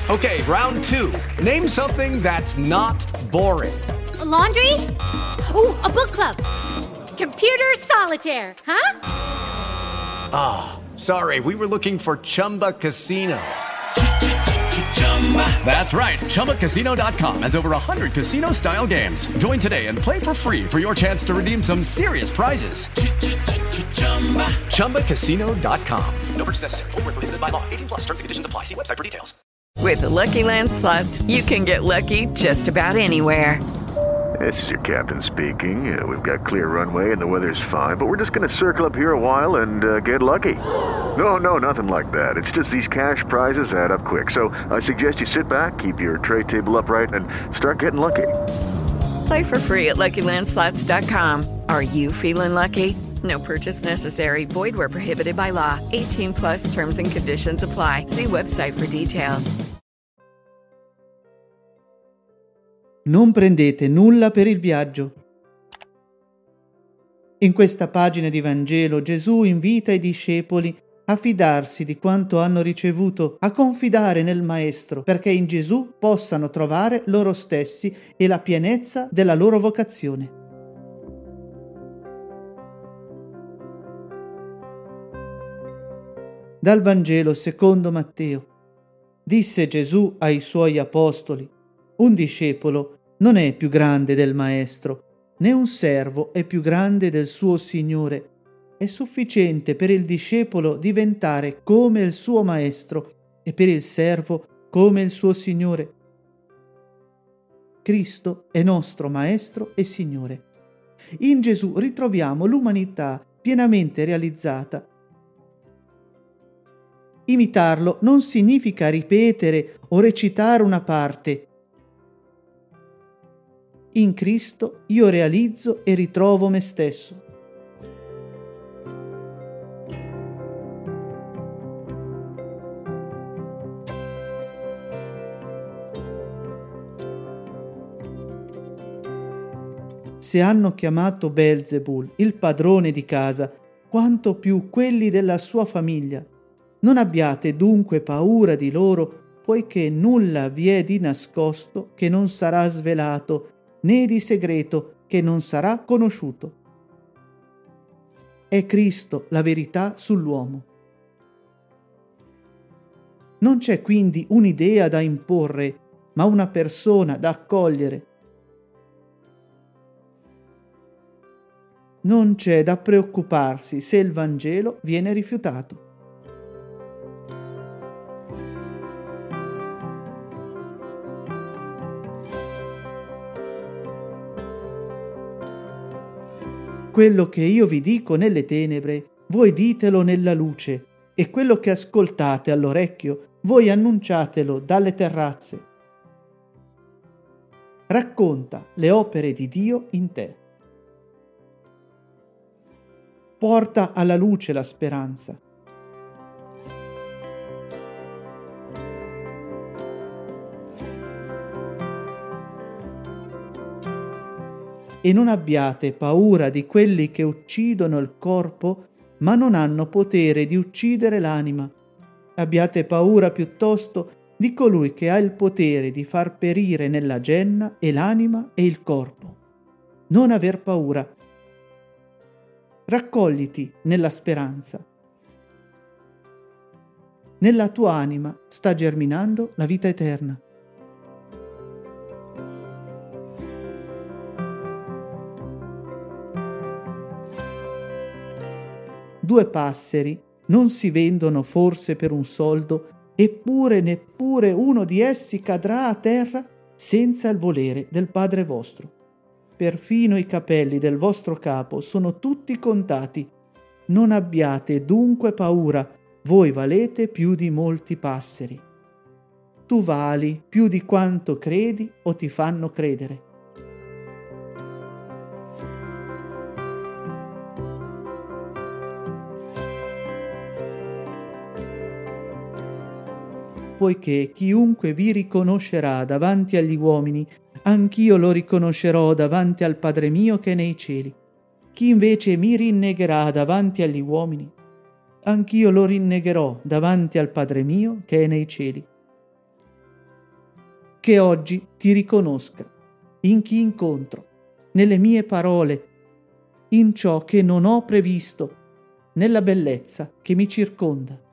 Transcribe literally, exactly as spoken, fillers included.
Okay, round two. Name something that's not boring. A laundry? Ooh, a book club. Computer solitaire, huh? Ah, oh, sorry, we were looking for Chumba Casino. That's right, Chumba Casino dot com has over one hundred casino-style games. Join today and play for free for your chance to redeem some serious prizes. Chumba Casino dot com. No purchase necessary. Void where prohibited by law. eighteen plus terms and conditions apply. See website for details. With the Lucky Land Slots, you can get lucky just about anywhere. This is your captain speaking. Uh, we've got clear runway and the weather's fine, but we're just going to circle up here a while and uh, get lucky. No, no, nothing like that. It's just these cash prizes add up quick. So I suggest you sit back, keep your tray table upright, and start getting lucky. Play for free at Lucky Land Slots dot com. Are you feeling lucky? No purchase necessary. Void where prohibited by law. eighteen plus terms and conditions apply. See website for details. Non prendete nulla per il viaggio. In questa pagina di Vangelo Gesù invita i discepoli a fidarsi di quanto hanno ricevuto, a confidare nel Maestro, perché in Gesù possano trovare loro stessi e la pienezza della loro vocazione. Dal Vangelo secondo Matteo. Disse Gesù ai suoi apostoli: un discepolo non è più grande del Maestro, né un servo è più grande del suo Signore. È sufficiente per il discepolo diventare come il suo Maestro e per il servo come il suo Signore. Cristo è nostro Maestro e Signore. In Gesù ritroviamo l'umanità pienamente realizzata. Imitarlo non significa ripetere o recitare una parte. In Cristo io realizzo e ritrovo me stesso. Se hanno chiamato Belzebul, il padrone di casa, quanto più quelli della sua famiglia. Non abbiate dunque paura di loro, poiché nulla vi è di nascosto che non sarà svelato, né di segreto che non sarà conosciuto. È Cristo la verità sull'uomo. Non c'è quindi un'idea da imporre, ma una persona da accogliere. Non c'è da preoccuparsi se il Vangelo viene rifiutato. Quello che io vi dico nelle tenebre, voi ditelo nella luce, e quello che ascoltate all'orecchio, voi annunciatelo dalle terrazze. Racconta le opere di Dio in te. Porta alla luce la speranza. E non abbiate paura di quelli che uccidono il corpo, ma non hanno potere di uccidere l'anima. Abbiate paura piuttosto di colui che ha il potere di far perire nella genna e l'anima e il corpo. Non aver paura. Raccogliti nella speranza. Nella tua anima sta germinando la vita eterna. Due passeri non si vendono forse per un soldo, eppure neppure uno di essi cadrà a terra senza il volere del Padre vostro. Perfino i capelli del vostro capo sono tutti contati. Non abbiate dunque paura, voi valete più di molti passeri. Tu vali più di quanto credi o ti fanno credere. Poiché chiunque vi riconoscerà davanti agli uomini, anch'io lo riconoscerò davanti al Padre mio che è nei cieli. Chi invece mi rinnegherà davanti agli uomini, anch'io lo rinnegherò davanti al Padre mio che è nei cieli. che oggi ti riconosca in chi incontro, nelle mie parole, in ciò che non ho previsto, nella bellezza che mi circonda.